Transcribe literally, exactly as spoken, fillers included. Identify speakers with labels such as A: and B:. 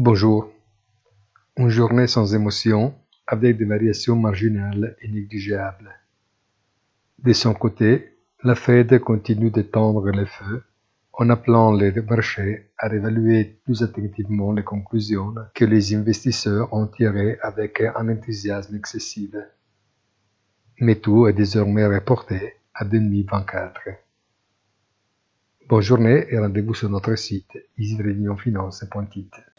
A: Bonjour. Une journée sans émotion, avec des variations marginales et négligeables. De son côté, la Fed continue d'étendre les feux en appelant les marchés à réévaluer plus attentivement les conclusions que les investisseurs ont tirées avec un enthousiasme excessif. Mais tout est désormais reporté à deux mille vingt-quatre. Bonne journée et rendez-vous sur notre site easy reunion finance point it.